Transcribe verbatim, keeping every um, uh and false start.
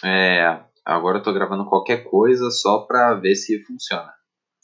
É, agora eu tô gravando qualquer coisa só pra ver se funciona.